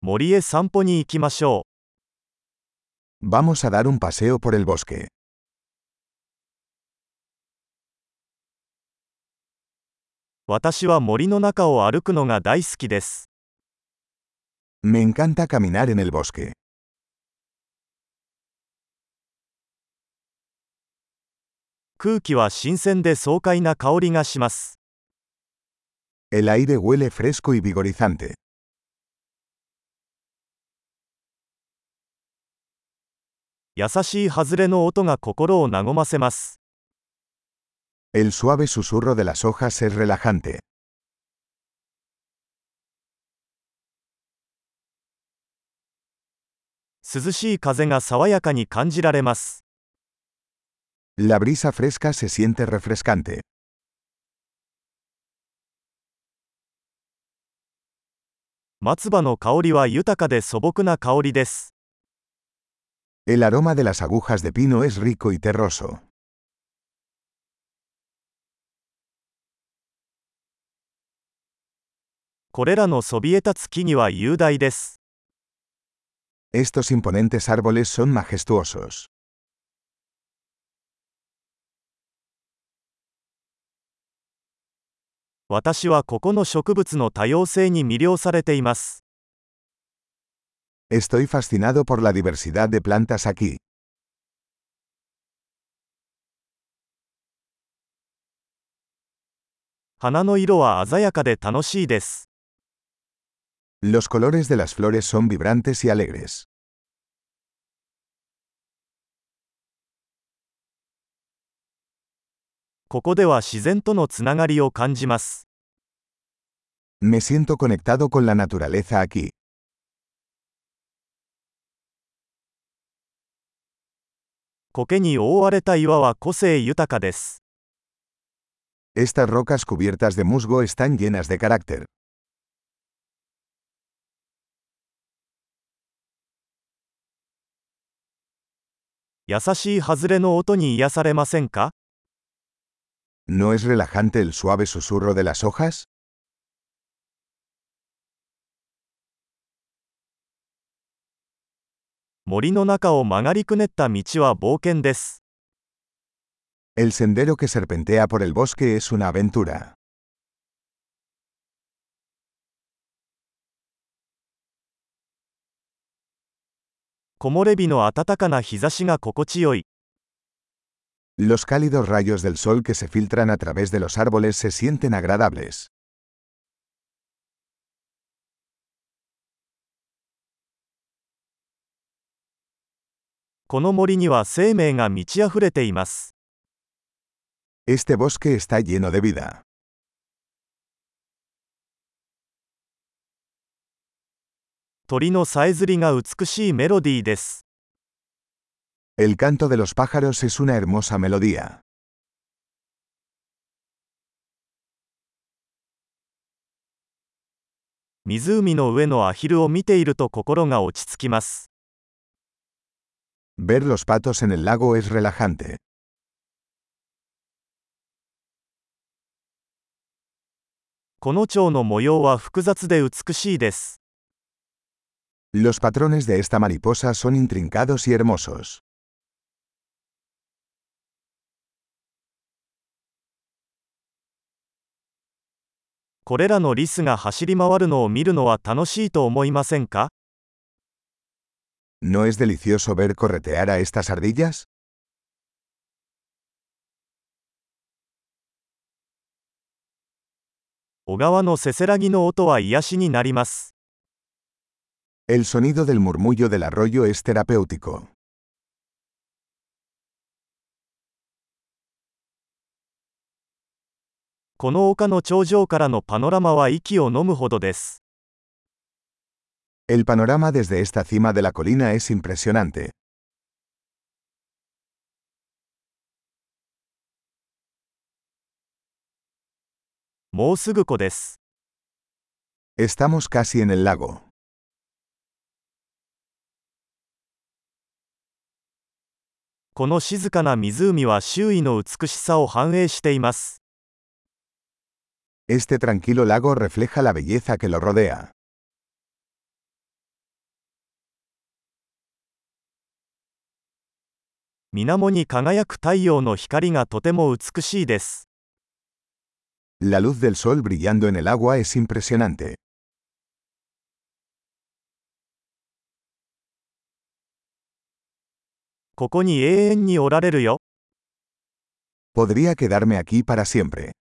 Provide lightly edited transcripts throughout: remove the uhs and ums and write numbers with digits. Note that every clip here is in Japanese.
森へ散歩に行きましょ Vamos a dar un paseo por el bosque. う。私は森の中を歩くのが大好きです。 Me encanta caminar en el bosque. 空気は新鮮で爽快な香りがします。 El aire huele fresco y vigorizante. 優しい外れの音が心を和ませます。 El suave susurro de las hojas es relajante. 涼しい風が爽やかに感じられます。 La brisa fresca se siente refrescante. 松葉の香りは豊かで素朴な香りです。 El aroma de las agujas de pino es rico y terroso. これらのそびえ立つ木々は雄大です。 Estos imponentes árboles son majestuosos. 私はここの植物の多様性に魅了されています。 Estoy fascinado por la diversidad de plantas aquí. 花の色は鮮やかで楽しいです。 Los colores de las flores son vibrantes y alegres. ここでは自然とのつながりを感じます。 Me siento conectado con la naturaleza aquí. 苔に覆われた岩は個性豊かです。 Estas rocas cubiertas de musgo están llenas de carácter. 優しい外れの音に癒されませんか？ ¿No es relajante el suave susurro de las hojas? 森の中を曲がりくねった道は冒険です。 El sendero que serpentea por el bosque es una aventura. 木漏れ日の暖かな日差しが心地よい。 Los cálidos rayos del sol que se filtran a través de los árboles se sienten agradables. この森には生命が満ち溢れています。 Este bosque está lleno de vida. 鳥のさえずりが美しいメロディーです。 El canto de los pájaros es una hermosa melodía. 湖の上のアヒルを見ていると心が落ち着きます。 Ver los patos en el lago es relajante. この蝶の模様は複雑で美しいです。 Los patrones de esta mariposa son intrincados y hermosos. これらのリスが走り回るのを見るのは楽しいと思いませんか？ ¿No es delicioso ver corretear a estas ardillas? 小川のせせらぎの音は癒しになります。 El sonido del murmullo del arroyo es terapéutico. この丘の頂上からのパノラマは息を飲むほどです。 El panorama desde esta cima de la colina es impresionante. もうすぐ湖です。 Estamos casi en el lago. この静かな湖は周囲の美しさを反映しています。 Este tranquilo lago refleja la belleza que lo rodea. 水面に輝く太陽の光がとても美しいです。 La luz del sol brillando en el agua es impresionante. ここに永遠におられるよ。 Podría quedarme aquí para siempre.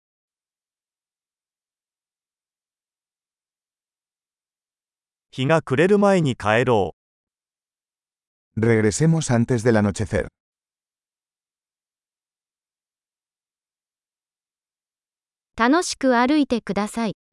日が暮れる前に帰ろう。 Regresemos antes del anochecer. 楽しく歩いてください。